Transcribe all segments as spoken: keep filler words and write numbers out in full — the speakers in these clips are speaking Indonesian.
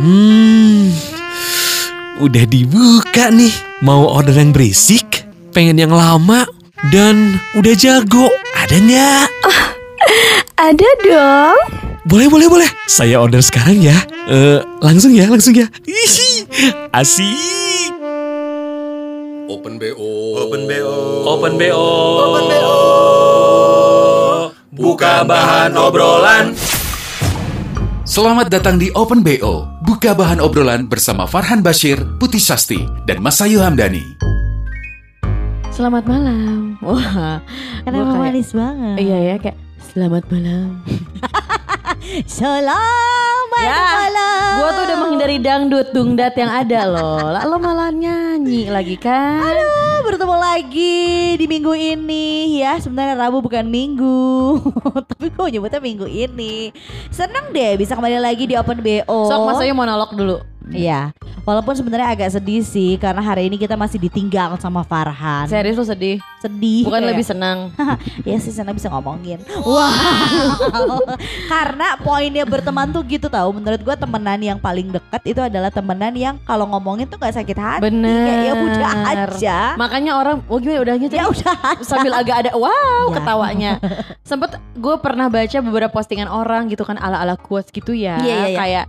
Hmm, udah dibuka nih. Mau order yang berisik, pengen yang lama, dan udah jago. Ada nggak? Oh, ada dong. Boleh, boleh, boleh. Saya order sekarang ya. Eh, langsung ya, langsung ya. Ih, asik. Open B O. Open B O. Open B O. Open B O. Buka bahan obrolan. Selamat datang di Open B O. Buka bahan obrolan bersama Farhan Bashir, Putih Sasti, dan Mas Ayu Hamdani. Selamat malam. Wah, Kenapa gua kayak- manis banget? Iya ya, kayak selamat malam. Selamat Ya, malam. Gue tuh udah menghindari dangdut, dungdat yang ada loh. Lah lo malah nyanyi lagi kan? Aduh, bertemu lagi di minggu ini ya. Sebenarnya Rabu bukan minggu, tapi gue nyebutnya minggu ini. Seneng deh bisa kembali lagi di Open B O. Sok Mas Ayu monolog dulu. Iya, walaupun sebenarnya agak sedih sih karena hari ini kita masih ditinggal sama Farhan. Serius lo sedih? Sedih. Bukan ya. lebih senang. Ya sih sana bisa ngomongin. Wow. Karena poinnya berteman tuh gitu tahu. Menurut gue temenan yang paling dekat itu adalah temenan yang kalau ngomongin tuh gak sakit hati. Bener. Kayak ya udah aja. Makanya orang, oh gimana udahnya Ya udah aja. sambil agak ada wow Ya. ketawanya. Sempet gue pernah baca beberapa postingan orang gitu kan ala-ala quotes gitu ya. Iya, iya, iya. Kayak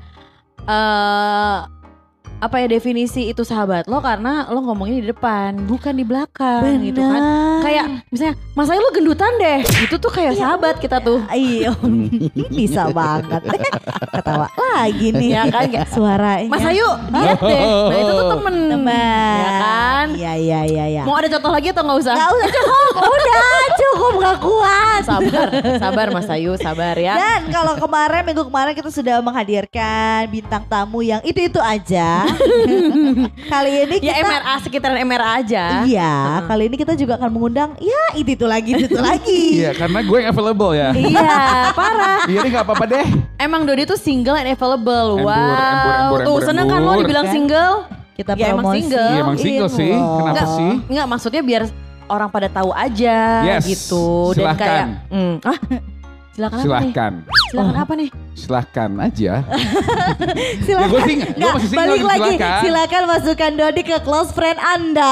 eh apa ya definisi itu sahabat lo karena lo ngomongnya di depan bukan di belakang gitu kan. Kayak misalnya Mas Ayu lo gendutan deh. Itu tuh kayak sahabat kita tuh. Iya, bisa banget. Ketawa lagi nih. Ya kan kayak Suaranya. Mas Ayu diet deh. Nah itu tuh temen. Teman. Ya kan. Iya iya iya iya. Mau ada contoh lagi atau gak usah? Gak usah cukup. Udah cukup gak kuat. Sabar, sabar Mas Ayu, sabar ya. Dan kalau kemarin minggu kemarin kita sudah menghadirkan bintang tamu yang itu-itu aja. Kali ini kita Ya M R A, sekitaran M R A aja. Iya, kali ini kita juga akan mengundang ya itu itu lagi itu lagi. Iya, karena gue yang available ya. Iya, parah. Iya, ini gak apa-apa deh. Emang Dodi tuh single and available. Embur, Wow. embur, embur, Tuh embur, seneng kan lo embur. dibilang Kan? single? Kita Ya, emang promosi. single. Iya, emang single sih. loh. Kenapa Enggak, sih? Enggak, maksudnya biar orang pada tahu aja Yes, gitu. Dan silahkan. kayak, hmm, ah, silakan apa nih? Silahkan. Silakan apa nih? Silahkan aja. Silakan. Ya, gue sing- gue Nggak, masih single, balik gitu, lagi. silakan. Silakan masukkan Dodi ke close friend Anda.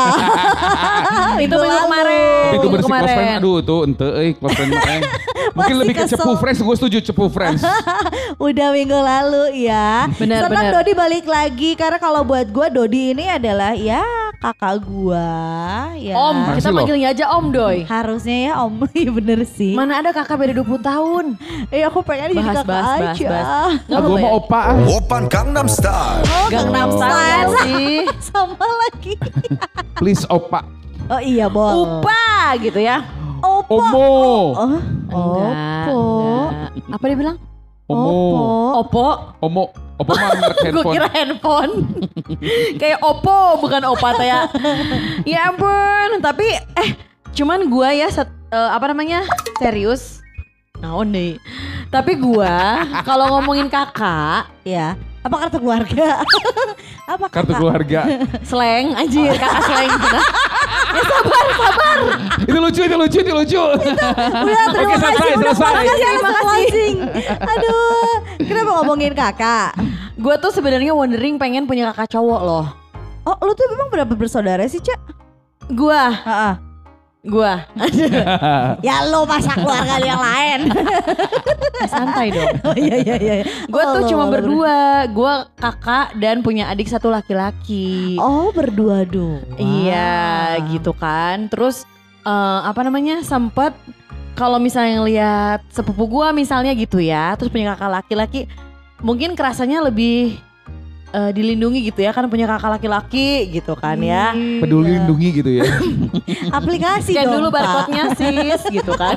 Itu minggu lalu. kemarin. Tapi itu Minggu bersih close friend. kemarin. Aduh, tuh ente eh close friend mah, eh. Mungkin Masih lebih ke kesel. cepu friends. Gue setuju cepu friends. Udah minggu lalu ya. Benar, Senang benar. Dodi balik lagi karena kalau buat gue Dodi ini adalah ya kakak gue. Ya. Om, Makasih kita loh. manggilnya aja Om Doi. Harusnya ya Om. Iya bener sih. Mana ada kakak beda dua puluh tahun. Eh aku pengen jadi Bahas, kakak bahas, bahas, aja. bahas. Gak Gue boleh. mau opa ah. Open Gangnam Style. Oh, Gangnam Style sih. Sama lagi. Please opa. Oh iya boleh. Upa gitu ya. Opo. Omo. Oh, Enggak, Opo. enggak. Apa dia bilang? Omo. Opo. Omo. Opo mah merek Gue handphone. kira handphone. Kayak Oppo bukan Opa teh ya. Ya ampun, tapi eh cuman gua ya set, eh, apa namanya? Serius. Naon nih. Tapi gua kalau ngomongin kakak, Ya. Apa kartu keluarga? Apa Kartu kakak? keluarga. slang anjir, kakak slang gitu. Ya sabar, sabar. Itu lucu, itu lucu, itu lucu. Udah terima Oke, selesai, kasih. Udah selesai. makasih, Terima makasih. kasih. Closing. Aduh, kenapa ngomongin kakak? Gua tuh sebenarnya wondering pengen punya kakak cowok loh. Oh, lu tuh memang berapa bersaudara sih, Cak? Gua, Heeh. gua. Ya lu masa keluarga lu yang lain. Santai dong. Oh iya iya iya. Gue Oh, tuh lu- cuma lu berdua, gue kakak dan punya adik satu laki-laki. ber- Oh, berdua dong. Iya, gitu kan. Terus eh, apa namanya? Sempet kalau misalnya ngelihat sepupu gue misalnya gitu ya, terus punya kakak laki-laki, mungkin kerasanya lebih eh, dilindungi gitu ya, kan punya kakak laki-laki gitu kan ya. Peduli lindungi gitu ya. Aplikasi Scan dong, dulu Pak. barcode-nya sis gitu kan.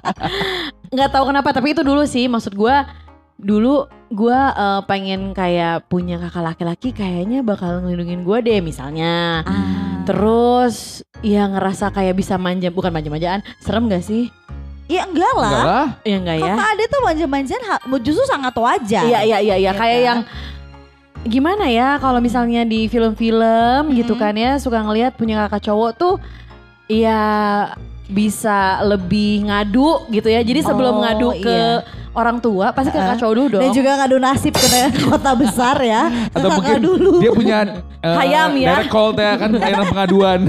Nggak tahu kenapa, tapi itu dulu sih maksud gue. Dulu gue eh, pengen kayak punya kakak laki-laki, kayaknya bakal ngelindungin gue deh misalnya. Ah. Terus ya ngerasa kayak bisa manja, bukan manja-manjaan, serem gak sih? Ya enggak lah. Enggak lah. Ya enggak ya? Kakak ada tuh manja-manjaan ha- justru sangat wajar. Iya iya iya iya Ya kayak kan? yang gimana ya kalau misalnya di film-film gitu Mhm. kan ya suka ngelihat punya kakak cowok tuh ya bisa lebih ngadu gitu ya. Jadi sebelum Oh, ngadu ke iya. orang tua pasti ke kakak cowok dulu dong. Dan juga ngadu nasib ke kota besar ya. Ke Atau kakak mungkin dulu. dia punya eh, Hayam ya. direct call teh kan layanan pengaduan.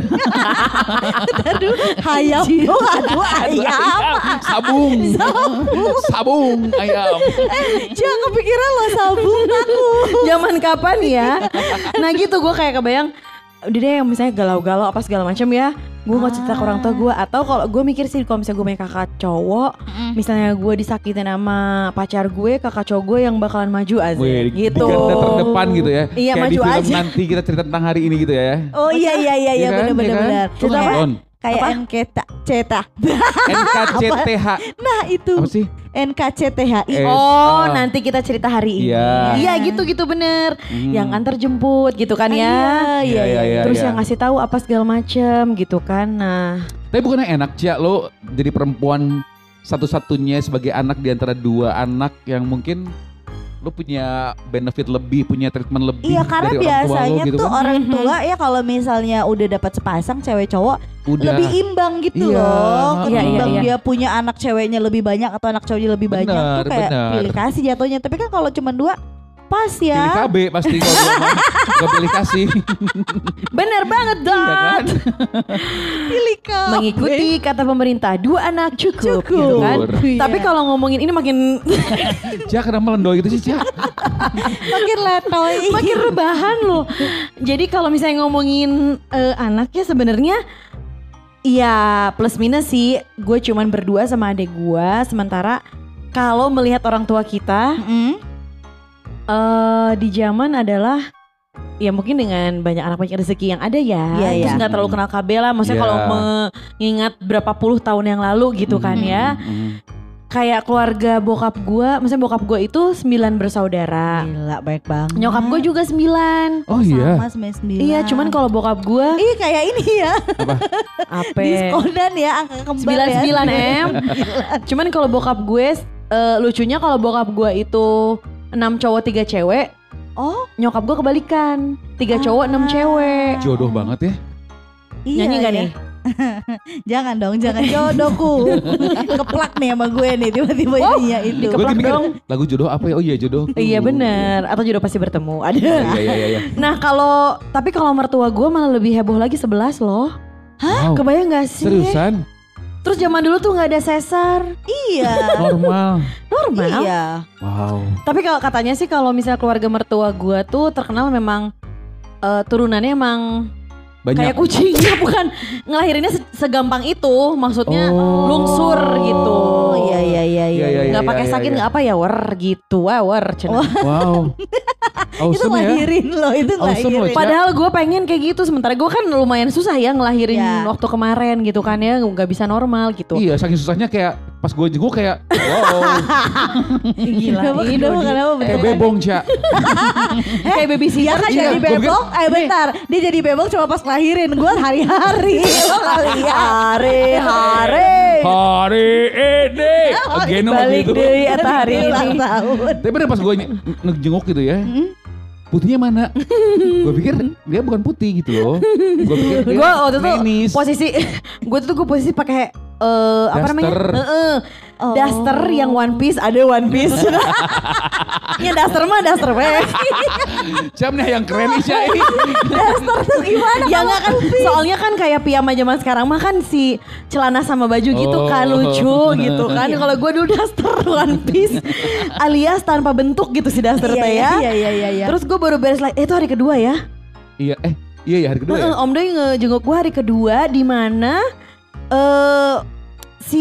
Aduh, hayam dong, aduh ayam. Sabung. Sabung ayam. Jangan kepikiran lo sabung aku. Zaman kapan ya? Nah gitu gue kayak kebayang udah deh yang misalnya galau-galau apa segala macam ya, gue nggak cerita ke orang tua gue. Atau kalau gue mikir sih kalau misalnya gue punya kakak cowok, misalnya gue disakitin sama pacar gue, kakak cowok gue yang bakalan maju aja Wih, di- gitu. di garda terdepan gitu ya. Iya, Kayak maju di film aja. nanti kita cerita tentang hari ini gitu ya. Oh iya iya iya iya Iya kan? benar Iya benar kan? benar. Lu Kayak nonton? kayak N K C T H. N K C T H. Nah itu Apa sih? N K C T H I. Eh, Oh ah. nanti kita cerita hari ini. Iya. Iya gitu-gitu bener. Hmm. Yang antar jemput gitu kan ya. Iya iya iya. Terus iya. yang ngasih tahu apa segala macem gitu kan. Nah Tapi bukannya enak Cia lo jadi perempuan satu-satunya sebagai anak di antara dua anak yang mungkin lo punya benefit lebih, punya treatment lebih Iya karena dari orang tua lo biasanya gitu tuh kan. orang tua ya kalau misalnya udah dapat sepasang cewek cowok Udah. lebih imbang gitu Iya, loh. iya, Ketimbang iya, iya. dia punya anak ceweknya lebih banyak atau anak cowoknya lebih banyak Benar, tuh kayak benar. pilih kasih jatuhnya. Tapi kan kalau cuma dua pas Pilih ya. K B pasti kalau gue mah. Gak pilih kasih. bener banget Iya dong. kan? Pilih K B. Mengikuti kata pemerintah dua anak cukup, Cukup. gitu kan. Iya. Tapi kalau ngomongin ini makin Cia kenapa lendoy gitu sih Cia? makin letoy. makin rebahan loh. Jadi kalau misalnya ngomongin eh, anaknya sebenarnya ya plus minus sih. Gue cuman berdua sama adik gue. Sementara kalau melihat orang tua kita Mm. eh di zaman adalah ya mungkin dengan banyak anak banyak rezeki yang ada ya. Iya, Terus iya. nggak terlalu kenal K B lah. Maksudnya Iya. kalau mengingat berapa puluh tahun yang lalu gitu kan ya. Mm. Kayak keluarga bokap gue, maksudnya bokap gue itu sembilan bersaudara. Gila baik banget. Nyokap gue juga sembilan. Oh iya. Sama sembilan sembilan. Iya, cuman kalau bokap gue Ih kayak ini ya. apa? Diskonan ya angka kembar sembilan ya. sembilan M. Cuman kalau bokap gue eh, lucunya kalau bokap gue itu enam cowok tiga cewek, Oh nyokap gue kebalikan. tiga cowok enam cewek. Jodoh banget ya. iya Nyanyi gak ya. nih? Jangan dong, jangan jodohku. Keplak nih sama gue nih tiba-tiba ininya itu. dikeplak Gue mikir dong. lagu jodoh apa ya? Oh iya jodoh. Iya bener. Atau jodoh pasti bertemu. Ada. Iya iya iya. iya. Nah kalau tapi kalau mertua gue malah lebih heboh lagi sebelas loh. Wow. Kebayang gak sih? Seriusan? Terus zaman dulu tuh nggak ada sesar. Iya. Normal. Normal. Iya. Wow. Tapi kalau katanya sih kalau misalnya keluarga mertua gue tuh terkenal memang eh, turunannya emang Banyak. kayak kucing. Ya bukan ngelahirinnya se- segampang itu. Maksudnya Oh. lungsur gitu. Oh iya iya iya iya. Iya, iya, Nggak iya, pakai iya, sakit iya. nggak apa ya wer gitu. Wah wer. cenah. Wow. Itu Awesome ya. lahirin loh, itu Awesome loh, lahirin. Cak. Padahal gue pengen kayak gitu. Sementara gue kan lumayan susah ya ngelahirin Ya. waktu kemarin gitu kan ya. Nggak bisa normal gitu. Iya, saking susahnya kayak pas gue jenguk kayak wow. Gila. Kenapa ini kenapa Dodi. kenapa Kayak betul? bebong, Cak. Kayak Dia babysitter. kan Iya, jadi gua pikir- bebong, eh bentar, dia jadi bebong cuma pas lahirin, gue hari-hari. Lo gak lihat? Hari-hari. Hari ini. Again Balik gitu. deh eta hari Ulang ini. tahun. Tapi bener pas gue ngejenguk gitu ya. Putihnya mana? Gue pikir dia bukan putih gitu loh. Gue pikir dia Gue waktu itu nenis. posisi gue tuh gue posisi pakai eh apa namanya? Daster. Heeh. Oh. Daster yang one piece, ada one piece. Ya daster mah daster weh. Siapa nih yang keren nih, Cak? Daster tuh gimana? Ya enggak kan soalnya kan kayak piyama zaman sekarang mah kan si celana sama baju gitu kan Oh. lucu gitu kan. Kalau gue dulu daster one piece alias tanpa bentuk gitu si daster Iya teh iya ya. iya iya iya. Terus gue baru beres like, eh itu hari kedua ya. Iya, eh iya ya hari kedua ya. Heeh, Om Doi ngejenguk gue hari kedua di mana eh si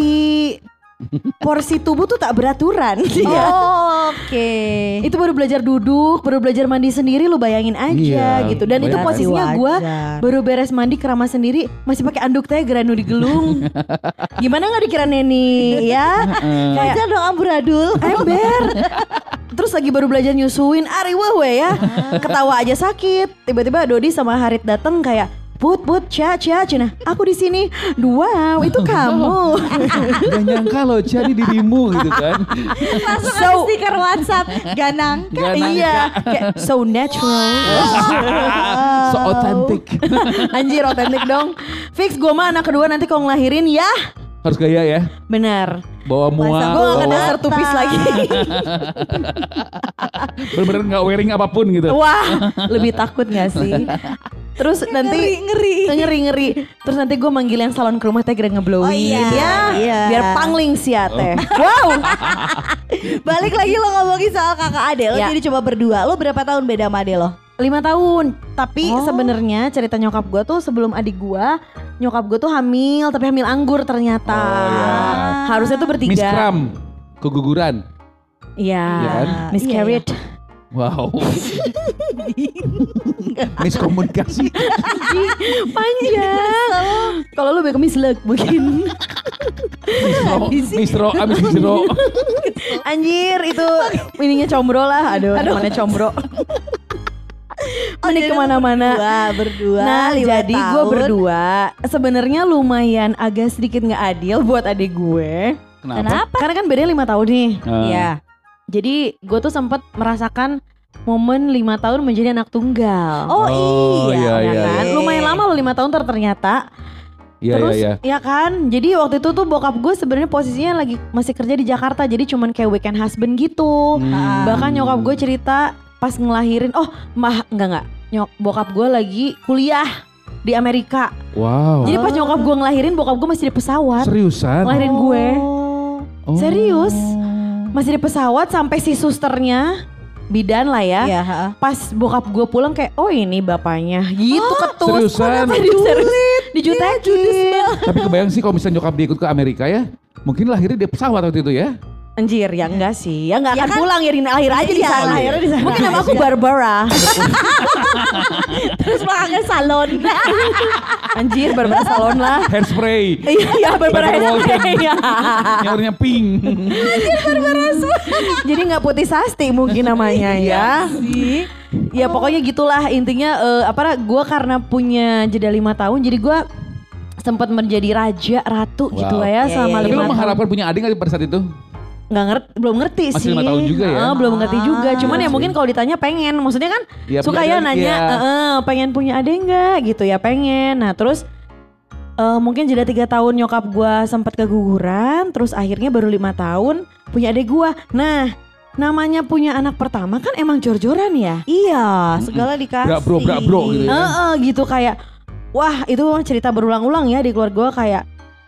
porsi tubuh tuh tak beraturan. Iya. Oh, oke. Itu baru belajar duduk, baru belajar mandi sendiri, lu bayangin aja Iya, gitu. Dan itu bayangin. posisinya gue Wajar. baru beres mandi keramas sendiri, masih pakai anduk teh geranu digelung. Gimana nggak dikira neni ya? Kayak Wajar dong amburadul. ember. Terus lagi baru belajar nyusuin, ari weh ya. Ketawa aja sakit. Tiba-tiba Dodi sama Harit dateng kayak, Put, Put, Cia, Cia, Cina. Aku di sini. Wow, itu kamu. Gak nyangka loh jadi dirimu gitu kan. Langsung So- ada stiker WhatsApp. Ganang. Gak nangka. Iya, kayak so natural. So authentic. Anjir, otentik dong. Fix gue mah anak kedua nanti kalau ngelahirin ya. Harus gaya ya. Bener. Bawa mual. Masa Gue gak bawa- akan dasar tupis lagi. Bener-bener gak wearing apapun gitu. Wah, lebih takut gak sih? Terus nanti Ngeri, ngeri. ngeri ngeri. Terus nanti gue manggil yang salon ke rumah teh kira ngeblowing Oh iya. ya, Iya. biar pangling sih ya teh. Oh. Wow. Balik lagi lo ngomongin soal kakak ade lo, Ya. jadi coba berdua. Lo berapa tahun beda sama ade lo? Lima tahun. Tapi Oh. sebenarnya cerita nyokap gue tuh sebelum adik gue, nyokap gue tuh hamil, tapi hamil anggur ternyata. Oh, iya. Harusnya tuh bertiga. Miss Kram, keguguran. Iya. Iya kan? Miscarriage. Wow. Miskomunikasi. Panjang. Kalau lu ke misleg mungkin. Misro, misro, abis misro. Anjir itu ininya combro lah. Aduh, namanya combro. Mending kemana-mana. Berdua, berdua. Nah, lima jadi gue tahun. berdua sebenarnya lumayan agak sedikit nggak adil buat adik gue. Kenapa? Karena kan bedanya lima tahun nih. Iya. Jadi gue tuh sempat merasakan momen lima tahun menjadi anak tunggal. Oh, Oh, iya. iya, ya kan? Oke. Lumayan lama loh lima tahun ter ternyata. Iya, Terus iya, iya. ya kan, jadi waktu itu tuh bokap gue sebenarnya posisinya lagi masih kerja di Jakarta, jadi cuman kayak weekend husband gitu. Hmm. Bahkan nyokap gue cerita pas ngelahirin, oh mah enggak enggak, nyok bokap gue lagi kuliah di Amerika. Wow. Jadi pas nyokap gue ngelahirin, bokap gue masih di pesawat Seriusan? ngelahirin gue, Oh. serius. masih di pesawat sampai si susternya bidan lah ya. Iya, heeh. Pas bokap gue pulang kayak, oh ini bapaknya, gitu ketus. seriusan? Serius, serius. Dijutekin. Tapi kebayang sih kalau misalnya nyokap dia ikut ke Amerika ya, mungkin lahirnya di pesawat waktu itu ya. Anjir, ya enggak sih. Ya enggak Ya akan kan? pulang ya, di lahir aja di Iya, sana. lahirnya di sana. Mungkin nama aku Barbara. Terus makanya salon. Anjir, Barbara salon lah. Hairspray, Iya, iya Barbara Barbara Walton. Iya. nyawarnya pink. Jadi nggak putih sasti mungkin namanya ya. Sih. Ya pokoknya gitulah intinya. eh, apa? Gue karena punya jeda lima tahun, jadi gue sempat menjadi raja ratu Wow. gitu lah ya Iya, sama iya, Tapi lima lo tahun. mengharapkan punya adik nggak pada saat itu? Nggak ngerti, belum ngerti Masih sih. lima tahun juga ya? Eh, belum ngerti juga. Cuman Ah, ya iya mungkin sih. kalau ditanya pengen, maksudnya kan Ya, suka punya ya adik, nanya, ya. "Eh, eh, pengen punya adik nggak gitu ya, pengen. Nah terus eh, mungkin jeda tiga tahun nyokap gue sempat keguguran, terus akhirnya baru lima tahun punya adik gue. Nah namanya punya anak pertama kan emang jor-joran ya. Iya, segala dikasih. Brak bro, brak bro gitu ya. Heeh, gitu kayak, wah itu cerita berulang-ulang ya di keluarga gue kayak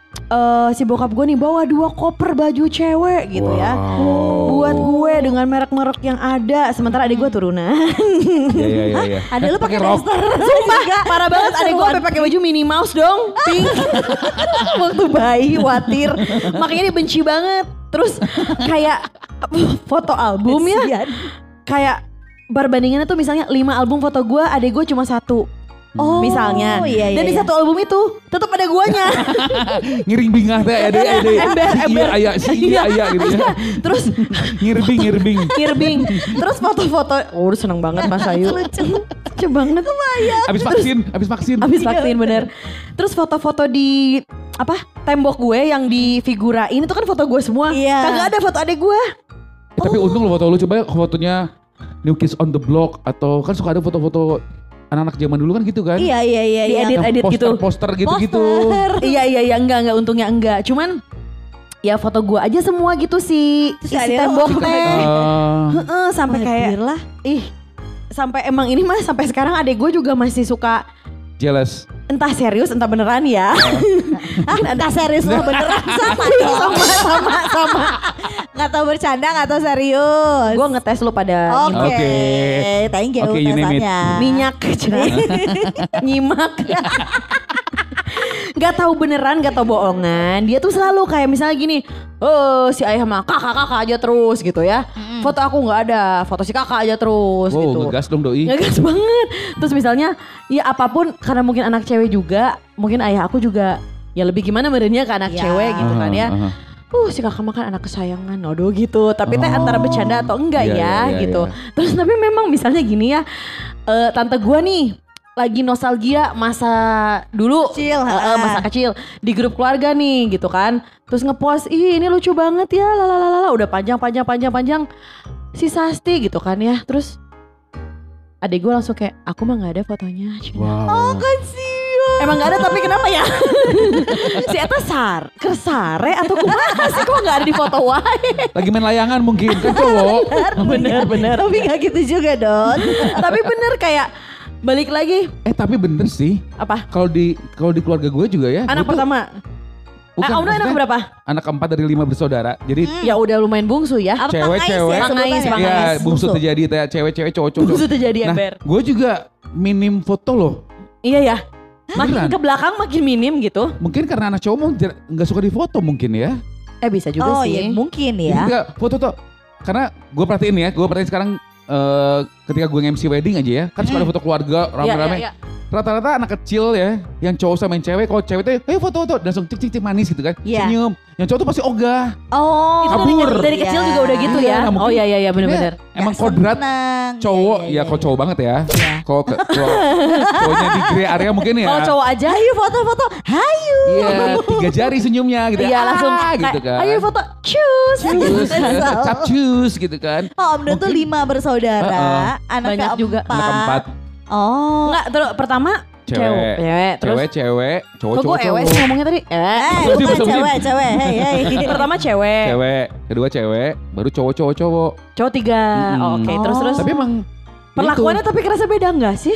eh si bokap gue nih bawa dua koper baju cewek gitu ya. Wow. Buat gue dengan merek-merek yang ada, sementara adik gue turunan. Iya iya iya. iya. Ada lu pakai rok. daster. Sumpah, parah banget adek gue sampai pakai baju Minnie Mouse dong, pink. Waktu bayi, khawatir. Makanya dia benci banget. Terus kayak foto album ya, Kesian. kayak perbandingannya tuh misalnya lima album foto gue, adek gue cuma satu. Oh, Misalnya, iya, iya, dan di iya. satu album itu tetap ada guanya. Ngiring bingah teh ada ada. Ember, Si iya ember. aya, si iya aya gitu ya. Terus Ngirbing ngirbing. ngirbing. Terus foto-foto, oh seneng banget Mas Ayu. Lucu banget. Abis vaksin, abis vaksin. Abis vaksin bener. Terus foto-foto di apa tembok gue yang difigurain itu kan foto gue semua. Iya. Kagak ada foto adek gue. Eh, tapi untung lo foto lu coba ya fotonya New Kids on the Block atau kan suka ada foto-foto anak-anak zaman dulu kan gitu kan. Iya, iya, iya. iya. Diedit. edit gitu. Poster-poster gitu-gitu. Poster. Iya iya iya enggak enggak untungnya enggak. Cuman ya foto gue aja semua gitu sih. Terus Isi ada tembok lo- teh. Eh, Heeh, sampai kayak lah. ih sampai emang ini mah sampai sekarang adek gue juga masih suka jealous. entah serius entah beneran ya. Ah, entah serius lo beneran sama dong. sama sama sama. Gak tau bercanda, gak tau serius. Gue ngetes lu pada Oke, nyimak. Oke. thank you Oke, you name it. tesannya. Minyak nyimak. Gak tahu beneran, gak tahu bohongan. Dia tuh selalu kayak misalnya gini, oh si ayah mah kakak kakak aja terus gitu ya. Foto aku nggak ada, foto si kakak aja terus Wow, gitu. ngegas dong doi. Ngegas banget. Terus misalnya, ya apapun karena mungkin anak cewek juga, mungkin ayah aku juga ya lebih gimana merenya ke anak Ya. cewek gitu kan ya. Aha, aha. Uh si kakak mah kan anak kesayangan, aduh gitu. Tapi teh antara bercanda atau enggak Iya, ya iya, iya, gitu. iya. Terus tapi memang misalnya gini ya, eh, tante gua nih lagi nostalgia masa dulu, Kecil, eh, eh, ha. masa kecil di grup keluarga nih gitu kan. Terus ngepost, ih ini lucu banget ya, lalalala, udah panjang panjang panjang panjang si Sasti gitu kan ya. Terus adek gue langsung kayak, aku mah nggak ada fotonya. Wow. Emang gak ada tapi kenapa ya? Si Eta sar, kersare atau kumaha sih kok gak ada di foto wae? Lagi main layangan mungkin kan cowok. Bener bener. Tapi gak gitu juga Don. Tapi bener kayak balik lagi Eh tapi bener sih. apa? Kalau di kalau di keluarga gue juga ya. Anak gue tuh- pertama. bukan, eh, Om Doi anak maksudnya berapa? Anak keempat dari lima bersaudara. Jadi Ya udah lumayan bungsu ya. Apa Cewek, pangais cewek. ya sebutannya? Pangais, ya pangais. bungsu terjadi teh cewek-cewek cowok-cowok. Bungsu terjadi Nah, ember. gue juga minim foto loh. Iya ya. Makin Beneran. ke belakang makin minim gitu. Mungkin karena anak cowok mau jar- nggak suka difoto mungkin ya. Eh bisa juga Oh sih. ya mungkin Jadi ya. nggak foto tuh. Karena gue perhatiin ya, gue perhatiin sekarang eh, ketika gue nge-M C wedding aja ya, kan suka ada foto keluarga Iya, rame-rame. iya, iya. Rata-rata anak kecil ya, yang cowok sama yang cewek, kalau cewek tuh, eh foto-foto, langsung cik-cik manis gitu kan, Iya. senyum. Yang cowok tuh pasti ogah. Oh. Itu dari, kabur. dari kecil Iya. juga udah gitu Iya, ya. nah, mungkin Oh iya iya iya bener-bener. Emang Nggak kodrat senang. cowok, Iya, ya iya, kalau iya. cowok banget ya. Iya. Kalau ke- cowok, cowoknya di grey area mungkin ya. Kalau cowok aja Ayo foto-foto. Hayu. Iya, tiga jari senyumnya gitu. iya Ah, langsung gitu kayak, kan. ayo foto cus. Cus, capcus gitu kan. Oh Om Don tuh lima bersaudara. Anak Banyak juga. keempat. Anak keempat, Oh. Enggak, terus pertama cewek, cewek, cewek, terus cewek, cewek, cowok, kok gue cowok, ewe cowok. sih ngomongnya tadi? Eh, Eh Bersih, bukan bersih. cewek, cewek. Hei, hei. pertama cewek, Cewek, kedua cewek, baru cowok, cowok, cowok. cowok tiga. Mm-mm. Oh, Oke, terus Oh. terus Tapi emang perlakuannya tapi kerasa beda enggak sih?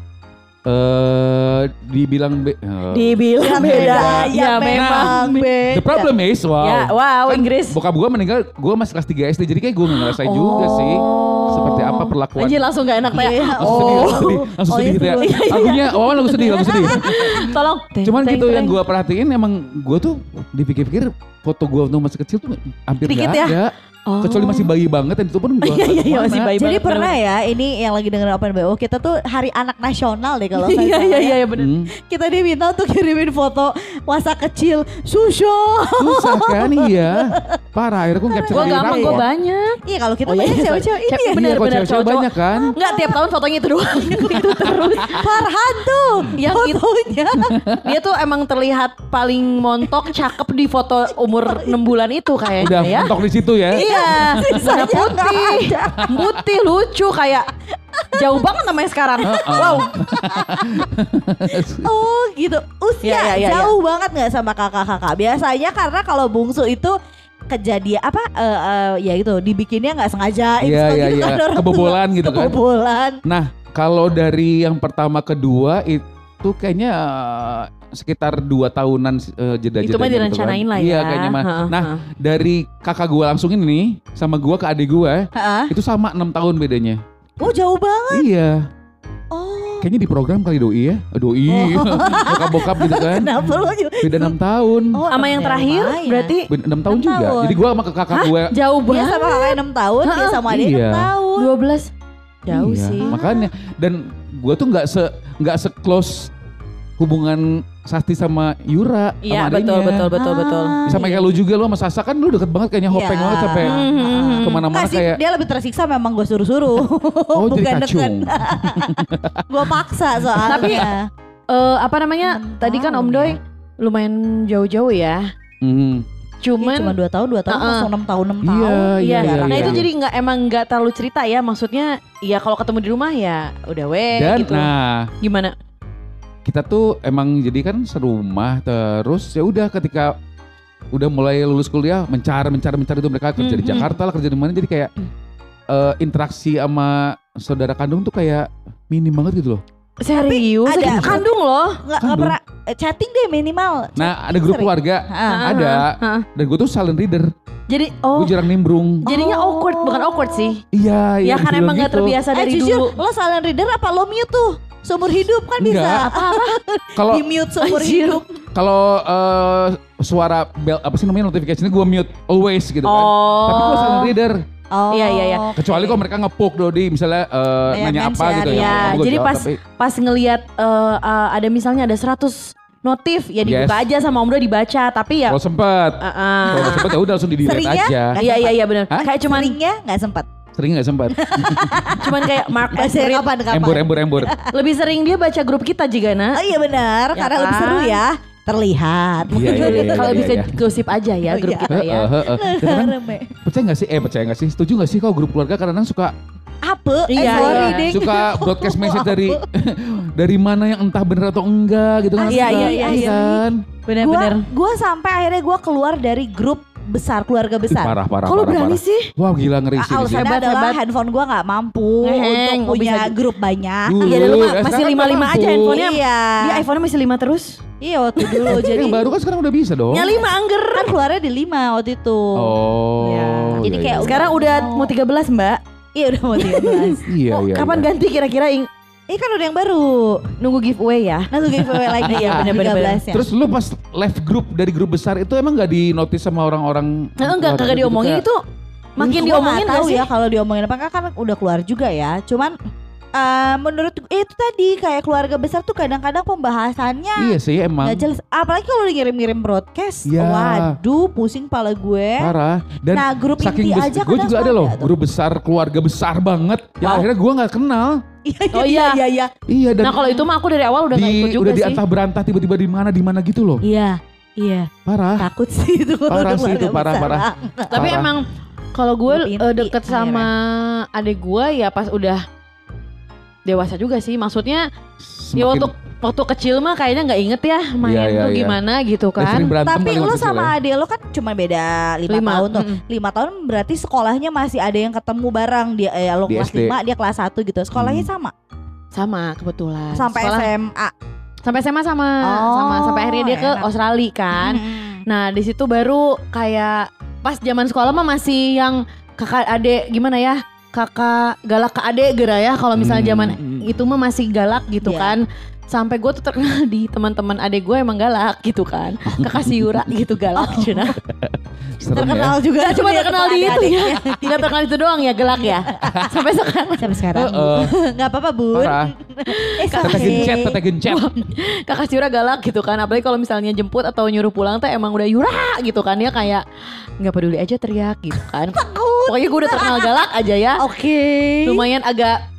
eh dibilang be- eh, Dibilang beda, ya ya memang memang. beda. the problem is wow. Ya, wow, Kan Inggris. Bokap gue meninggal, gue masih kelas tiga S D, jadi kayak gue ngerasain juga sih seperti apa perlakuan. Anjir langsung gak enak Iya. ya. Langsung sedih, langsung sedih, langsung Oh, sedih iya, gitu ya. sedih. Lagunya, oh lagu sedih, lagu sedih. Tolong. Teng, Cuman teng, gitu yang teng. gue perhatiin emang gue tuh dipikir-pikir foto gue waktu masih kecil tuh hampir Dikit gak ya? ada. Oh. Kecuali masih bayi banget dan itu pun gue Iya, iya, iya, masih bayi. Jadi banget, pernah ya ini yang lagi dengerin Open B O kita tuh hari anak nasional deh kalau nggak Iya salah iya ya. iya iya, bener. Hmm, Kita diminta untuk kirimin foto masa kecil Susho. susah kan iya. Parah, akhirnya gue capture Gue di gampang, gue rapor. banyak. Iya kalau kita Oh, iya, banyak iya, cewek-cewek ini Cewek- ya. bener, Iya, kalau bener, cewek-cewek cowok-cowok. banyak kan. Enggak, tiap tahun fotonya itu doang. Itu terus. Farhan tuh Yang itu fotonya. dia tuh emang terlihat paling montok, cakep di foto umur enam bulan itu kayaknya Udah ya. mentok di situ ya. Iya, Sisanya warna putih, putih lucu kayak jauh banget namanya sekarang. Wow, Oh gitu. Usia Iya, iya, iya, jauh banget nggak sama kakak-kakak. Biasanya karena kalau bungsu itu kejadian apa eh, eh, ya gitu dibikinnya nggak sengaja Iya, instan iya, gitu iya. kan orang tua. Kebobolan gitu kan. Kebobolan. Nah, kalau dari yang pertama kedua itu kayaknya eh, sekitar dua tahunan eh, jeda-jeda. itu mah direncanain lah ya. Iya, kayaknya mah. Heeh, Nah, heeh. dari kakak gua langsung ini nih sama gua ke adik gua Heeh. itu sama enam tahun bedanya. Oh jauh banget. Iya. Oh. Kayaknya di program kali doi ya. Eh, Doi. Bokap-bokap gitu kan. Kenapa lo juga? Beda enam tahun. Oh, sama yang enam terakhir lumayan. berarti Beda enam tahun enam juga. tahun. Jadi gua sama ke kakak Hah? gua. jauh Dia banget. sama kakak enam tahun, dia sama adik Iya. enam tahun. dua belas jauh Iya, sih. Makanya dan gua tuh nggak se nggak se close hubungan Sasti sama Yura Iya sama betul adiknya. betul betul betul. Ah, Sama iya. kayak lu juga, lu sama Sasa kan lu deket banget kayaknya hopeng Iya. banget sampai Hmm. kemana-mana Nggak sih, kayak dia lebih tersiksa memang gue suruh-suruh. oh jadi Bukan kacung. Gue paksa soalnya. Tapi, Eh apa namanya? Enam Tadi kan tahun Om Doi ya. lumayan jauh-jauh ya. Hmm. Cuma Cuman dua tahun, dua tahun, Uh-uh. langsung enam tahun, enam Iya, tahun. iya, Iya, iya, nah iya, itu iya. jadi nggak emang nggak terlalu cerita ya, maksudnya ya kalau ketemu di rumah ya udah weh Dan gitu. nah Gimana? kita tuh emang jadi kan serumah terus ya udah ketika udah mulai lulus kuliah mencar mencar mencar itu mereka kerja di Mhm. Jakarta lah kerja di mana jadi kayak eh, interaksi sama saudara kandung tuh kayak minim banget gitu loh. Serius? ada- Sakit kandung loh. Nggak, nggak Kandung. pernah eh, chatting deh minimal. Nah ada grup sering. keluarga Ah. ada Heeh. dan gue tuh silent reader, Jadi oh gue jarang nimbrung. jadinya Oh. awkward, bukan awkward sih. Iya Ya iya. kan dibilang emang nggak gitu. terbiasa Eh dari jujur, dulu. lo silent reader apa lo mute tuh? Seumur hidup kan bisa. Enggak. Apa-apa? Kalau Di mute seumur Anjir. hidup. kalau eh, suara bell apa sih namanya notifikasinya gue mute always gitu kan. Oh. Tapi gue silent reader. Oh. Iya, iya, iya. Kecuali kalau mereka ngepuk Dodi misalnya eh, Ya, nanya apa mention, gitu ya. ya. Gua Jadi jawab, pas tapi- pas ngelihat eh, eh, ada misalnya ada seratus notif ya dibuka Yes. aja sama Om Doi dibaca, tapi ya kalau sempet, uh-uh. kalau sempet ya udah langsung di delete Seringnya? aja. Iya iya iya benar. Hah? Kayak cuman Seringnya nggak sempat. Sering nggak sempat? Cuman kayak Mark Baca Esrit. kapan kapan? embur, embur, embur. Lebih sering dia baca grup kita juga, Oh Nak. iya benar, Ya karena lebih kan? seru ya. Terlihat. Iya, iya, iya, Kalau iya, bisa iya. gosip aja ya Oh, grup iya. kita ya. Heeh, heeh. Kadang-kadang Rame. percaya nggak sih? Eh percaya nggak sih? Setuju nggak sih kalau grup keluarga kadang-kadang suka Apa? Eh, Iya, sorry iya. ding. suka broadcast message dari dari mana yang entah bener atau enggak gitu kan? Iya, Suka, iya, iya, iya. kan? Gua, Benar-benar. gua sampai akhirnya gua keluar dari grup besar, keluarga Ih, besar. Parah, parah, Kok lu parah, berani parah. sih? Wah gila ngeri sih. Alasannya Hebat, adalah hebat. handphone gua nggak mampu Ngeheng, untuk oh, punya bisa- grup banyak. Dulu, Iya, dulu mah eh, masih sekarang lima lima mampu. aja handphonenya. Iya. Dia iPhone-nya masih lima terus. Iya waktu dulu jadi Yang baru kan sekarang udah bisa dong. Nya lima angger. kan keluarnya di lima waktu itu. Oh. Ya. Jadi iya, kayak iya. Sekarang udah mau tiga belas, Mbak. Iya udah mau tiga belas. Iya, Oh, iya. kapan iya. ganti kira-kira ing- Ini kan udah yang baru. nunggu giveaway ya? Nah tuh giveaway lagi ya bener-bener. tiga belas ya. Terus lu pas live grup dari grup besar itu emang gak di notice sama orang-orang? Nah, enggak kagak gitu, diomongin kayak- itu. Makin Gua diomongin nggak gak tahu sih? ya kalau diomongin apa enggak kan udah keluar juga ya. Cuman eh, menurut eh, itu tadi kayak keluarga besar tuh kadang-kadang pembahasannya Iya sih emang. nggak jelas. Apalagi kalau ngirim-ngirim broadcast. Iya. Waduh, pusing pala gue. Parah. Dan Nah, grup saking inti bes- aja gue kadang juga ada suka loh ada tuh. grup besar keluarga besar banget yang Wow. akhirnya gue nggak kenal. Oh iya. iya iya. Iya dan Nah kalau itu mah aku dari awal udah di, gak ikut juga udah sih. diantah berantah tiba-tiba di mana di mana gitu loh. Iya. Iya. Parah. Takut sih itu. kalau Parah udah sih itu, keluarga parah, besar. parah. Tapi Parah. emang kalau gue Grup inti eh, deket sama adik gue ya pas udah dewasa juga sih. Maksudnya ya Semakin- waktu waktu kecil mah kayaknya nggak inget ya main Iya, iya, tuh iya. gimana gitu ya, sering kan. berantem Tapi kali lu waktu kecil sama ya. adik lu kan cuma beda lima, Lima, tahun tuh. mm-mm. Lima tahun berarti sekolahnya masih ada yang ketemu bareng. Dia eh, lu Di kelas S D. lima, dia kelas satu gitu. Sekolahnya Hmm. sama. Sama kebetulan. Sampai Sekolah- S M A. Sampai S M A sama Oh, sama sampai akhirnya dia ke enak. Australia kan. Mm-mm. Nah di situ baru kayak pas zaman sekolah mah masih yang kakak adik gimana ya, kakak galak ke adik gara ya kalau misalnya Hmm. zaman itu mah masih galak gitu Iya. kan. Sampai gue tuh terkenal di teman-teman adik gue emang galak gitu kan. Kakak si Yura gitu galak Cina. Serem Terkenal ya. juga. Gak cuma dia terkenal di kepada itu ya. adiknya. Tidak terkenal itu doang ya galak ya. Sampai sekarang Sampai sekarang. Heeh. Nggak apa-apa Bun. Parah. Eh, Tete sampai- gencet, tete gencet. kakak si Yura galak gitu kan. Apalagi kalau misalnya jemput atau nyuruh pulang tuh emang udah Yura gitu kan. Dia kayak nggak peduli aja teriak gitu kan. Pokoknya gue udah terkenal galak aja ya. Oke. Lumayan agak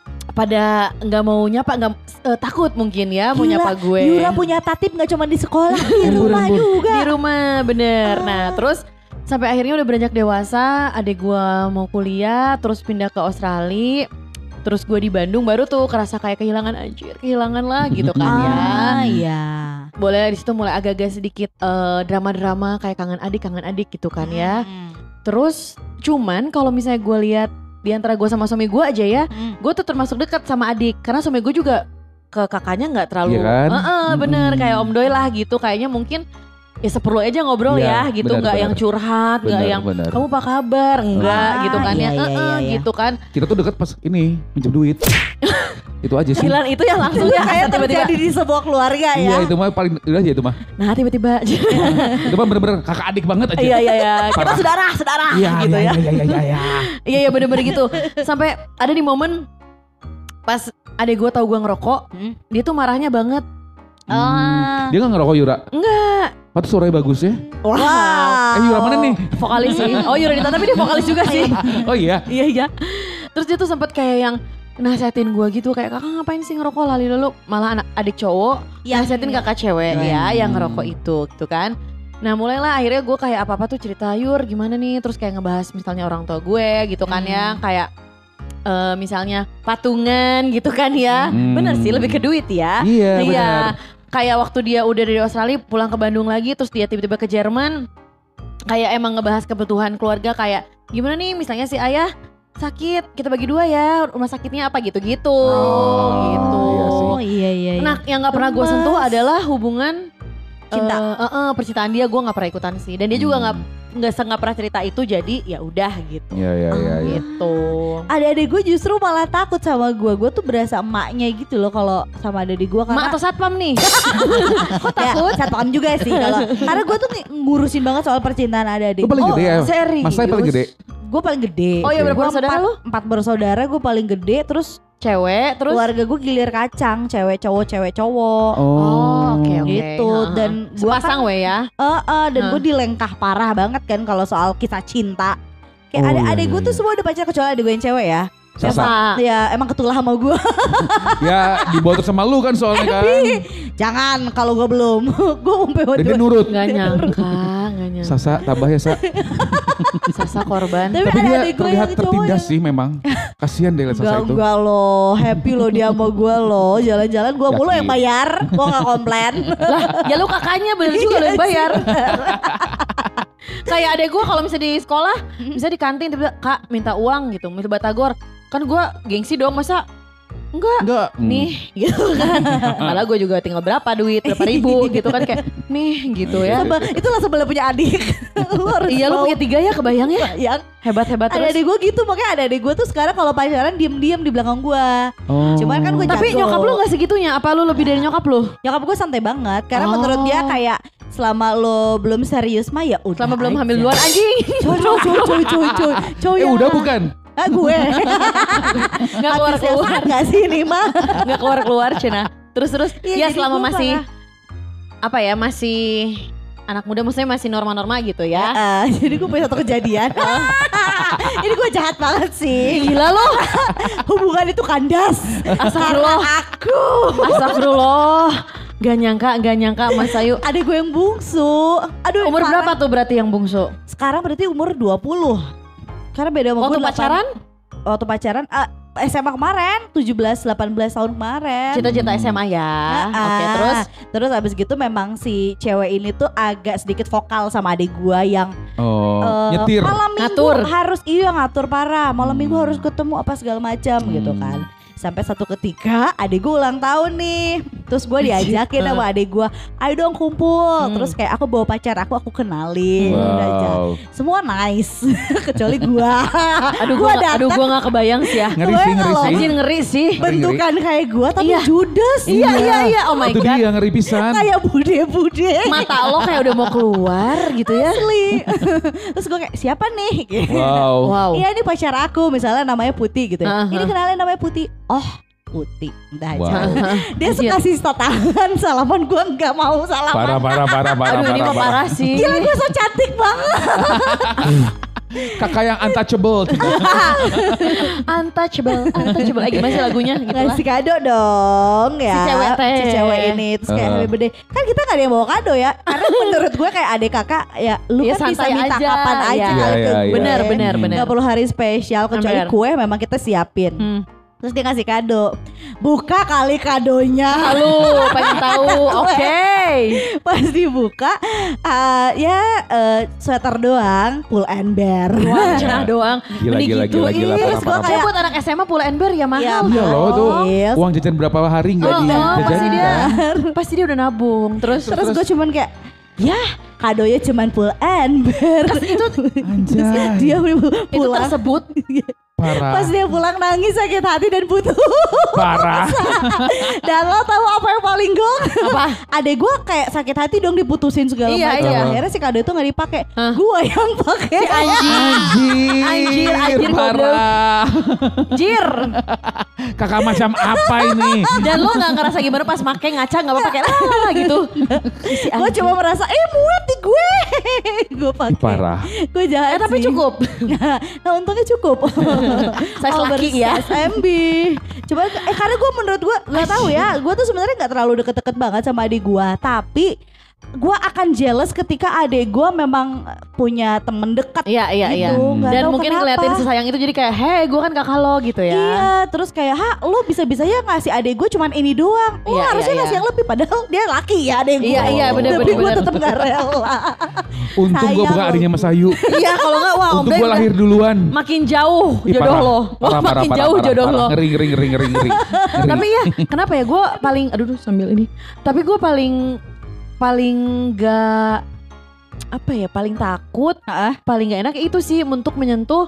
pada nggak mau nyapa, nggak eh, takut mungkin ya mau Gila, nyapa gue. Yura punya tatip nggak cuma di sekolah, di Embur, rumah embur. juga. Di rumah bener. Nah terus sampai akhirnya udah beranjak dewasa, adik gue mau kuliah, terus pindah ke Australia. Terus gue di Bandung baru tuh kerasa kayak kehilangan anjir, kehilangan lah gitu kan ya. Ah iya. Boleh di situ mulai agak-agak sedikit eh, drama-drama kayak kangen adik, kangen adik gitu kan ya. Hmm. Terus cuman kalau misalnya gue lihat di antara gue sama suami gue aja ya, Hmm. gue tuh termasuk dekat sama adik karena suami gue juga ke kakaknya nggak terlalu, Iya kan? Heeh, bener Mm-mm. kayak Om Doi lah gitu. Kayaknya mungkin ya seperlu aja ngobrol Iya, ya gitu, benar, nggak benar. yang curhat, nggak Benar, yang benar. kamu apa kabar, enggak Ah, gitu kan iya, ya, iya, Heeh, iya, iya. gitu kan. Kita tuh deket pas ini minjem duit. Itu aja sih. Silan itu ya langsung Itu ya kayak tiba-tiba. terjadi di sebuah keluarga ya. Iya itu mah paling udah aja itu mah. Nah tiba-tiba, Itu mah bener-bener kakak adik banget aja. iya iya iya, kita Parah. saudara saudara Iya, gitu iya, ya. iya, iya, iya, iya. Iya iya bener-bener gitu. Sampai ada di momen pas adek gue tahu gue ngerokok, Hmm. dia tuh marahnya banget. Ah. Dia gak ngerokok Yura? Enggak. Patut suaranya bagus ya. Wow. Wow. Eh Yura mana nih? Vokalis sih. Oh Yura Dita tapi dia vokalis juga sih. Oh iya. Iya iya. Terus dia tuh sempat kayak yang nasihatin gue gitu kayak kakak ngapain sih ngerokok lali dulu, malah anak adik cowok Yang- nasihatin kakak cewek Hmm. ya yang ngerokok itu gitu kan. Nah mulailah akhirnya gue kayak apa-apa tuh cerita Yur gimana nih, terus kayak ngebahas misalnya orang tua gue gitu kan ya, kayak eh, misalnya patungan gitu kan ya. Hmm. Bener sih lebih ke duit ya. Iya benar. Iya. Kayak waktu dia udah dari Australia pulang ke Bandung lagi, terus dia tiba-tiba ke Jerman, kayak emang ngebahas kebutuhan keluarga kayak gimana nih misalnya si ayah sakit, kita bagi dua ya, rumah sakitnya apa gitu-gitu. Oh, gitu. iya sih. Oh iya iya. iya. Nah yang nggak pernah gue Gemes. sentuh adalah hubungan Cinta. eh, eh, eh, percintaan dia, gue nggak pernah ikutan sih, dan dia juga nggak Hmm. nggak nggak pernah cerita itu, jadi ya udah gitu. Iya iya iya. iya. Gitu. Adik-adik gue justru malah takut sama gue. Gue tuh berasa emaknya gitu loh kalau sama adik gue karena Mak atau satpam nih? Kok ya, takut? satpam juga sih kalau karena gue tuh ng- ngurusin banget soal percintaan adik-adik. Lu paling Oh, gede ya? serius? Mas saya paling gede. Gue paling gede. Oh iya, berapa Gua bersaudara empat, lu? Empat bersaudara, gue paling gede. Terus Cewek, terus keluarga gue gilir kacang, cewek cowok cewek cowok. Oh, oke oke. Gitu. Ha, ha. Dan gua sepasang kan- we ya. Eh, eh, dan Hah. gue dilengkah parah banget kan kalau soal kisah cinta. Kayak Oh, ada iya, adek iya, gue tuh iya. semua udah pacar kecuali adek gue yang cewek ya. Sasa. Ya emang ketulah sama gue. Ya dibawa terus sama lu kan soalnya kan. Jangan kalau gue belum. Gue umpe Dan dia nurut. Gak nyangka, gak nyangka. Sasa tambah ya Sa. Sasa korban. Tapi Tapi ada dia adek gue terlihat yang cowok tertindas yang- sih memang. Kasihan deh liat Sasa Enggak, itu. enggak loh, happy loh dia sama gue loh. Jalan-jalan gue mulu Yakin. yang bayar, gue gak komplain. Lah, ya lu kakaknya bener juga lo yang bayar. Kayak adek gue kalau misalnya di sekolah, bisa di kantin tiba-tiba, Kak minta uang gitu, minta batagor. Kan gue gengsi dong, masa enggak Enggak. Hmm. nih gitu kan. Malah gue juga tinggal berapa duit, berapa ribu gitu kan, kayak nih gitu ya. Sama, itu langsung boleh punya adik. Lu harus Iya lu mau punya tiga ya, kebayang ya. yang Hebat-hebat ada terus. adik gue gitu, makanya ada adik gue tuh sekarang kalau pacaran diem-diem di belakang gue. Oh. Cuman kan gue Tapi jago. nyokap lu gak segitunya, apa lu lebih dari nyokap lu? Nyokap gue santai banget, karena Oh. menurut dia kayak selama lo belum serius mah ya udah. Selama belum aja. hamil duluan anjing. Coy coy coy coy coy coy coy. Eh udah bukan? Ah gue. Gak keluar-keluar. Gak sih ini mah. Gak keluar-keluar Cina. Terus-terus Iya, ya jadi selama gua masih parah. apa ya, masih anak muda, maksudnya masih norma-norma gitu ya. Ah, jadi gue punya satu kejadian. Ini gue jahat banget sih. Gila lo. Hubungan itu kandas. Astagfirullah. Aku. Astagfirullah. Gak nyangka, gak nyangka Mas Ayu. Ada gue yang bungsu. Aduh, Umur parah. berapa tuh berarti yang bungsu? Sekarang berarti umur dua puluh. Karena beda sama Waktu gue delapan- pacaran? Waktu pacaran ah, S M A kemarin tujuh belas delapan belas tahun kemarin. Cita-cita S M A ya. Ah, Oke, terus terus abis gitu memang si cewek ini tuh agak sedikit vokal sama adik gua yang Oh, eh, nyetir. malam minggu Ngatur. harus iya ngatur parah. Malam minggu Hmm. harus ketemu apa segala macam gitu Hmm. kan. Sampai satu ketika adik gue ulang tahun nih. Terus gue diajakin sama adik gue, ayo dong kumpul. Hmm. Terus kayak aku bawa pacar aku, aku kenalin. Udah aja. Wow. Semua nice. Kecuali gue. aduh gua, gak, aduh gua gak kebayang sih ya. Ngeri Gue sih, ngeri kalau sih. Anjir ngeri sih. bentukan kayak gue tapi Iya. judes. Iya iya iya. Oh my Itu god. dia ngeri pisan. Kayak bude-bude. Mata lo kayak udah mau keluar gitu ya. Asli. Terus gue kayak siapa nih? Gitu. Wow. Wow. Iya ini pacar aku misalnya namanya Putih gitu ya. Aha. Ini kenalin namanya Putih. Oh Putih. Udah aja. Wow. Dia suka sista tangan. Salaman gue gak mau salaman. Parah, parah, parah, parah, Aduh ini parah, mah parah. parah sih. Gila gue so cantik banget. Kakak yang untouchable. Untouchable, untouchable. Eh, gimana sih lagunya gitu lah. Ngasih kado dong ya. Si cewek teh. Si cewek ini. Terus kayak Uh. happy birthday. Kan kita gak ada yang bawa kado ya. Karena menurut gue kayak adik kakak ya lu Ya, kan bisa santai minta aja. kapan aja Iya. kali Iya, ke iya, gue. iya. Bener, bener, Hmm. bener. Gak perlu hari spesial kecuali Bener. kue memang kita siapin. Hmm. Terus dia ngasih kado. Buka kali kadonya. Halo, pengen tahu. Oke. Pas dibuka uh, ya uh, sweater doang, pull and bear. Wah, cenah doang. Gila, Mending gila, gila, gila, Ih, parah, terus gua parah, kayak parah. buat anak S M A pull and bear ya mahal. Iya, Iya loh tuh. Yes. Uang jajan berapa hari nggak Oh, oh, pasti dijajanin dia, kan? pasti dia udah nabung. Terus, Terus gue cuman kayak ya kadonya cuman pull and bear. itu Anjay. Dia itu pulang. tersebut. Parah. Pas dia pulang nangis sakit hati dan putus. Parah. Dan lo tahu apa yang paling gong? Apa? Adek gue kayak sakit hati dong diputusin segala Iya, macam. iya. Akhirnya si kado itu nggak dipakai. Hah? Gue yang pakai. Anjing. Anjir. Anjir, anjir, Parah. Jir. Kakak macam apa ini? Dan lo gak ngerasa gimana pas make ngaca gak apa-apa kayak ah gitu. Si Gue anjing. cuma merasa eh muat di gue. Gue Ih, pakai. Parah. Gue jahat Eh tapi sih. cukup. Nah untungnya cukup. Size laki ya. S M B. Coba eh karena gue menurut gue nggak tahu ya. Gue tuh sebenarnya nggak terlalu deket-deket banget sama adik gue. Tapi gue akan jealous ketika adik gue memang punya temen dekat. Iya iya iya. Gitu, nggak Dan tahu mungkin kenapa. ngeliatin sesayang itu jadi kayak hei gue kan kakak lo gitu ya. Iya, terus kayak ha lo bisa-bisanya ngasih adik gue cuman ini doang. Lo Iya, harusnya iya, ngasih iya. yang lebih padahal dia laki ya adik gue. Iya, iya, bener, Tapi bener, gue bener. tetap gak rela. Untung gue Sayang bukan lo. adiknya Mas Ayu. Iya kalau gak wah Untung Om gue Ben lahir duluan. makin jauh Ih, jodoh parah. lo. Parah, parah, makin parah, jauh parah, jodoh parah. lo. Ngeri, ngeri, ngeri, ngeri, ngeri. Ngeri. Tapi ya kenapa ya gue paling aduh duh, sambil ini. Tapi gue paling paling gak apa ya paling takut, Heeh. paling gak enak itu sih untuk menyentuh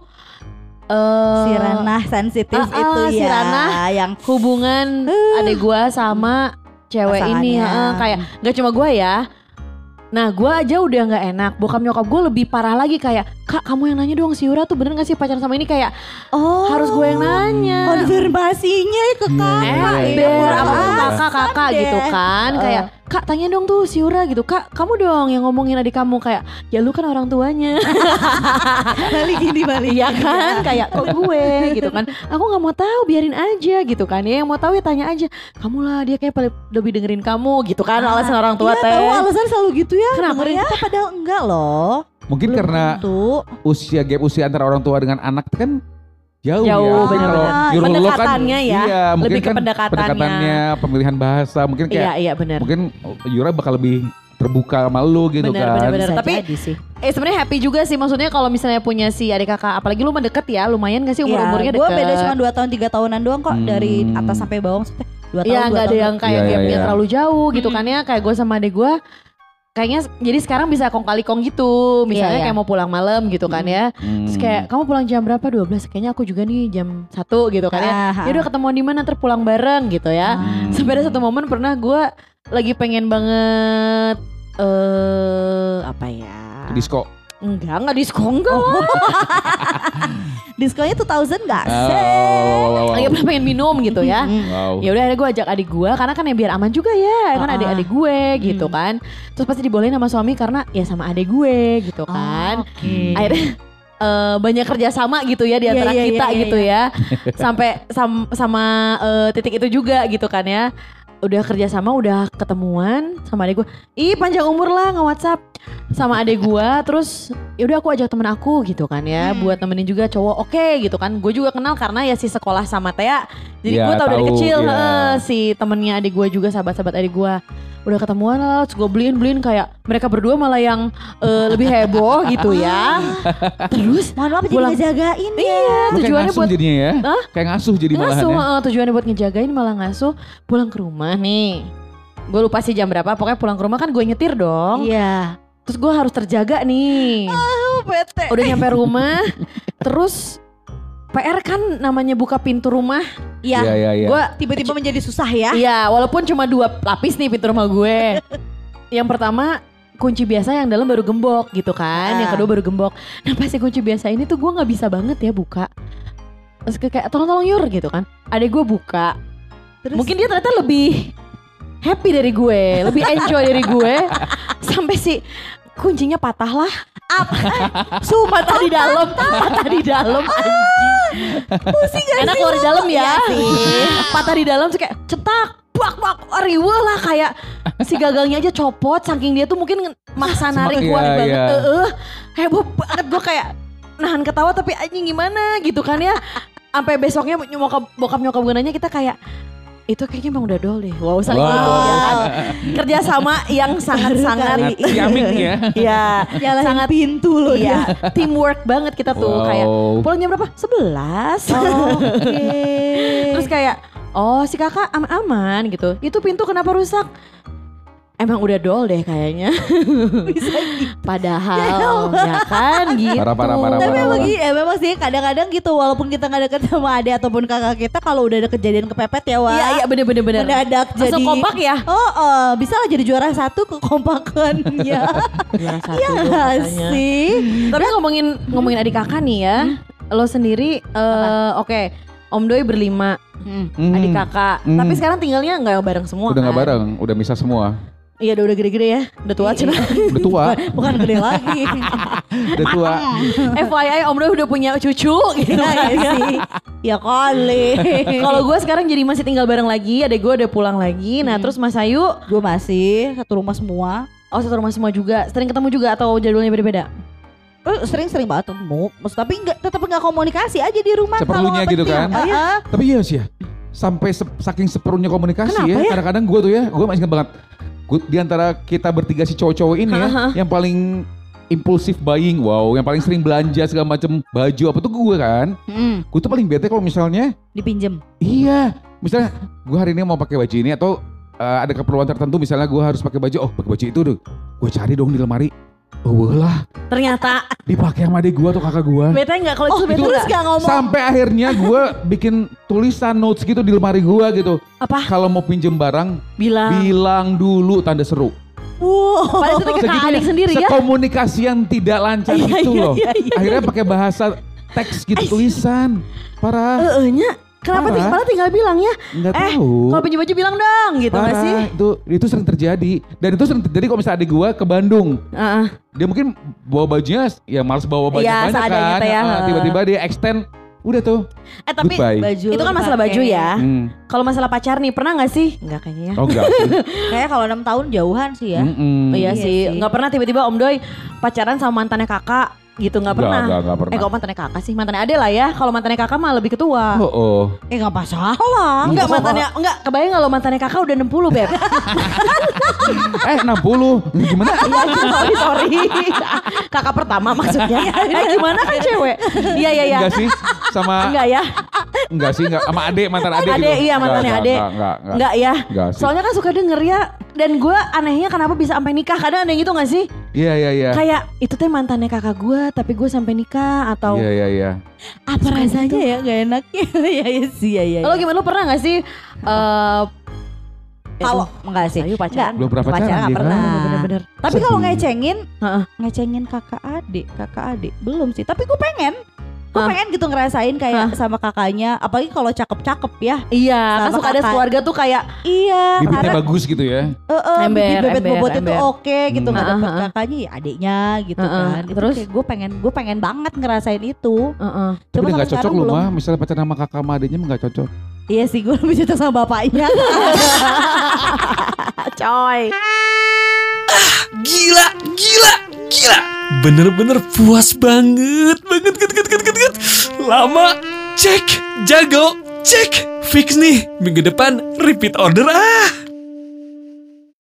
eh Si ranah sensitif Ah, ah, itu si ya. ranah. Yang hubungan Uh. adek gue sama cewek ini Pasangannya. heeh, kayak gak cuma gue ya. Nah gue aja udah gak enak. Bokap nyokap gue lebih parah lagi kayak kak kamu yang nanya dong si Yura tuh bener gak sih pacaran sama ini kayak oh harus gue yang nanya. konfirmasinya ke kakak. Iya, Eh, iya, ber iya. apa Alasan kakak-kakak deh. gitu kan Eh. kayak Kak tanya dong tuh si Yura gitu, Kak kamu dong yang ngomongin adik kamu. Kayak ya lu kan orang tuanya. Balik gini balik. Iya kan, kayak kok gue gitu kan. Aku gak mau tahu, biarin aja gitu kan. Ya yang mau tahu ya tanya aja. Kamu lah, dia kayak paling lebih dengerin kamu gitu kan. Ah, alasan orang tua iya, teh. tahu alasan selalu gitu ya. Kenapa dengerin ya? kita padahal enggak loh. Mungkin Belum karena tentu. usia gap usia antara orang tua dengan anak itu kan jauh, Jauh, ya. benar-benar. Kalau Yura lo kan, Pendekatannya ya, iya, lebih mungkin ke kan pendekatannya. pendekatannya, pemilihan bahasa, mungkin kayak Iya iya benar. mungkin Yura bakal lebih terbuka sama lu gitu Bener, kan. bener, bener. Bisa Tapi jadi sih. eh sebenarnya happy juga sih, maksudnya kalau misalnya punya si adik kakak, apalagi lu mah deket ya, lumayan gak sih umur-umurnya Gue deket? beda cuma dua tahun tiga tahunan doang kok, Hmm. dari atas sampai bawah maksudnya. Dua tahun Iya dua nggak ada tahun. yang kayak Iya, iya, gapnya iya. terlalu jauh gitu Mm-mm. kan ya. Kayak gue sama adik gue kayaknya jadi sekarang bisa kong kali kong gitu. Misalnya Iya, iya. kayak mau pulang malam gitu kan ya. Hmm. Terus kayak kamu pulang jam berapa? dua belas. Kayaknya aku juga nih jam satu gitu kan ya. Ah, Ya udah ketemuan di mana ntar pulang bareng gitu ya. Hmm. Sampai ada satu momen pernah gue lagi pengen banget eh apa ya? Disco. Enggak, enggak diskon enggak. Diskonya dua ribu enggak Oh, sih? wow, wow, wow. Lagi pernah pengen minum gitu ya. Wow. Ya udah akhirnya gue ajak adik gue karena kan ya biar aman juga ya, kan Ah. adik-adik gue gitu kan. Terus pasti dibolehin sama suami karena ya sama adik gue gitu kan. Oke. Akhirnya eh, banyak kerjasama gitu ya di Iya, antara iya, kita iya, gitu ya. Sampai sam- sama eh, titik itu juga gitu kan ya. Udah kerjasama, udah ketemuan sama adik gue. Ih panjang umur lah nge-WhatsApp sama adik gue. Terus yaudah aku ajak temen aku gitu kan ya. Hmm. Buat nemenin juga cowok, oke gitu kan. Gue juga kenal karena ya si sekolah sama Tea. Jadi Iya, gue tau dari tahu, kecil iya. eh, si temennya adik gue juga, sahabat-sahabat adik gue. Udah ketemuan lah, terus gue beliin-beliin kayak mereka berdua malah yang eh, lebih heboh gitu ya. Terus Mohon maaf jadi Pulang. ngejagain ya. iya Lu kayak tujuannya ngasuh buat jadinya ya. Hah? Kayak ngasuh jadi malahan ngasuh, ya. eh, tujuannya buat ngejagain malah ngasuh. Pulang ke rumah nih, gue lupa sih jam berapa, pokoknya pulang ke rumah kan gue nyetir dong. Iya. Terus gue harus terjaga nih. Oh, bete. Udah nyampe rumah, terus P R kan namanya buka pintu rumah. Iya. Iya, iya, iya. Gue Tiba-tiba menjadi susah ya. iya, walaupun cuma dua lapis nih pintu rumah gue. Yang pertama kunci biasa, yang dalam baru gembok gitu kan. Ah. Yang kedua baru gembok. Nah pas yang kunci biasa ini tuh gue nggak bisa banget ya buka. Terus kayak tolong-tolong Yur gitu kan. Adek gue buka. Terus? Mungkin dia ternyata lebih happy dari gue, lebih enjoy dari gue. Sampai si kuncinya patah lah. Apa? Su patah di dalam, patah di dalam anjing. Pusing gak Enak keluar di dalam ya. Iya sih. Patah di dalam terus kayak cetak, bak bak, riweh lah kayak si gagangnya aja copot, saking dia tuh mungkin maksa narik Iya, kuat banget. iya. Heeh. Heboh banget gue kayak nahan ketawa tapi anjing gimana gitu kan ya. Sampai besoknya nyokap bokap nyokap gue nanya, kita kayak itu kayaknya emang udah dol deh. Wow, saling Wow. gitu ya kan. Kerja sama yang sangat-sangat Ciamik ya. Iya, Nyalahin sangat pintu loh iya, dia. teamwork banget kita tuh. Wow. Kayak pulang jam berapa? sebelas. Oke. Terus kayak oh si kakak aman-aman gitu. Itu pintu kenapa rusak? Emang udah dol deh kayaknya. Bisa gitu. Padahal ya kan gitu. Parah, parah, parah, Tapi parah. memang, gi- ya, memang sih kadang-kadang gitu, walaupun kita gak deket sama adik ataupun kakak kita, kalau udah ada kejadian kepepet ya wah. Iya iya bener-bener bener. Mendadak Langsung jadi kompak ya. Oh, oh, bisa lah jadi juara satu kekompakannya. Juara satu Iya tuh gak katanya. sih? Tapi ngomongin ngomongin adik kakak nih ya. Lo sendiri eh oke, Om Doi berlima, Hmm. Hmm. adik kakak. Hmm. Tapi sekarang tinggalnya nggak bareng semua Udah kan? gak bareng, udah misah semua. Iya udah, udah gede-gede ya. Udah tua cina. Udah tua, Bukan gede lagi. udah tua. F Y I Om Doi udah punya cucu gitu Iya kan. ya sih. Ya kali. Kalau gue sekarang jadi masih tinggal bareng lagi, adek gue udah pulang lagi. Nah Hmm. terus Mas Ayu, Gue masih satu rumah semua. oh satu rumah semua juga. Sering ketemu juga atau jadwalnya beda-beda? Eh, sering-sering banget ketemu. Maksud tapi nggak tetap nggak komunikasi aja di rumah. kalau Seperlunya nggak gitu penting. kan. Ah, ah. Tapi iya sih ya, sampai se- saking seperlunya komunikasi Kenapa ya. ya? Kadang-kadang gue tuh ya, gue masih ingat banget. Gue di antara kita bertiga si cowok-cowok ini ya, Hah? yang paling impulsif buying, wow, yang paling sering belanja segala macam baju apa tuh gue kan. Mm, Gue tuh paling bete kalau misalnya, dipinjem. iya, misalnya gue hari ini mau pakai baju ini atau eh, ada keperluan tertentu, misalnya gue harus pakai baju, oh pakai baju itu tuh, gue cari dong di lemari. Oh lah, Ternyata dipakai sama adik gue atau kakak gue. bete nggak kalau Oh, itu bete terus nggak? gak ngomong. Sampai akhirnya gue bikin tulisan notes gitu di lemari gue gitu. Apa? Kalau mau pinjem barang, Bilang. bilang dulu tanda seru. Wow. Padahal itu kakak adik sendiri ya. Sekomunikasi yang tidak lancar Iya, itu iya, loh. iya, iya. Akhirnya pakai bahasa teks gitu tulisan. Parah. Eh, nya Kenapa Parah. ting- malah tinggal bilang ya? Nggak eh, tahu. kalau pinjam baju bilang dong gitu nggak Parah, sih? itu itu sering terjadi dan itu sering terjadi kalau misalnya adik gue ke Bandung. Heeh. Dia mungkin bawa bajunya ya males bawa banyak Iya, banyak seadanya kan. teh ya. Nah, tiba-tiba dia extend, udah tuh. Eh tapi Goodbye. Baju itu kan masalah baju dipakai. ya. Hmm. Kalau masalah pacar nih pernah nggak sih? Nggak kayaknya ya. Oh enggak sih. Kayak kalau enam tahun jauhan sih ya. Mm-mm. Oh, iya, Iya sih, sih. nggak pernah tiba-tiba Om Doi pacaran sama mantannya kakak gitu nggak Nggak, pernah. nggak, nggak pernah. Eh kok mantannya kakak sih, mantannya ade lah ya. Kalau mantannya kakak mah lebih ketua. Oh, oh. Eh nggak masalah. Enggak mantannya, enggak kebayang kalau mantannya kakak udah enam puluh beb. Eh enam puluh. Gimana? Iya sorry sorry. Kakak pertama maksudnya. Eh gimana kan cewek? Iya iya iya. Enggak sih. Sama Enggak ya. enggak sih, enggak sama adek, mantan adek Ade gitu. iya mantannya Enggak, ade. Enggak, enggak, enggak. Enggak ya. Enggak sih. Soalnya kan suka denger ya. Dan gue anehnya kenapa bisa sampai nikah. Kadang ada yang gitu gak sih? Iya, iya, iya. Kayak itu teh mantannya kakak gue tapi gue sampai nikah atau Iya, iya, iya. Apa Suka rasanya gitu. ya gak enaknya. Iya iya sih ya ya. Lo gimana, lo pernah gak sih eh Kalau enggak sih. Ayo pacaran. Belum pernah pacaran, nggak dia kan? pernah. Bener-bener. Tapi kalau ngecengin, Heeh. ngecengin kakak adik, kakak adik belum sih. Tapi gue pengen, gue Hah? pengen gitu ngerasain kayak sama kakaknya. Apalagi kalau cakep-cakep ya. Iya, kan Sama suka ada kakak. keluarga tuh kayak Iya, Bibitnya karena bagus gitu ya. eh, eh, Ember, bibit bebet ember, bobotnya tuh ember. oke gitu nggak Hmm, dapet uh-uh. kakaknya ya adiknya gitu Uh-uh. kan. Itu Terus? kayak gue pengen, gue pengen banget ngerasain itu. Heeh. Tapi Cuma udah gak sampai cocok sekarang lu belum. mah. Misalnya pacaran sama kakak sama adiknya mah gak cocok. Iya sih gue lebih cocok sama bapaknya. Coy. Gila, gila, gila. Bener-bener puas banget, banget, banget, banget, banget, banget. Lama, cek, jago, cek. Fix nih, minggu depan repeat order ah.